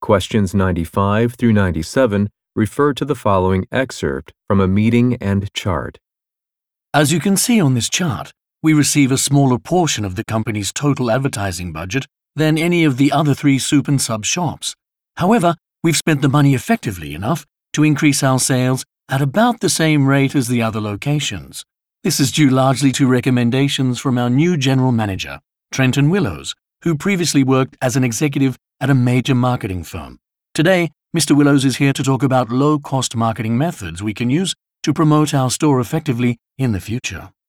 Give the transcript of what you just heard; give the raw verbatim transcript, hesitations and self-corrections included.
Questions ninety-five through ninety-seven refer to the following excerpt from a meeting and chart. As you can see on this chart, we receive a smaller portion of the company's total advertising budget than any of the other three soup and sub shops. However, we've spent the money effectively enough to increase our sales at about the same rate as the other locations. This is due largely to recommendations from our new general manager, Trenton Willows, who previously worked as an executive at a major marketing firm. Today, Mister Willows is here to talk about low-cost marketing methods we can use to promote our store effectively in the future.